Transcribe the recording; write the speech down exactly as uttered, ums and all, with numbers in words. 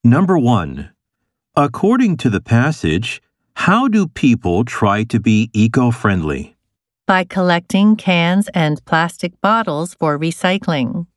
Number one. According to the passage, how do people try to be eco-friendly? By collecting cans and plastic bottles for recycling.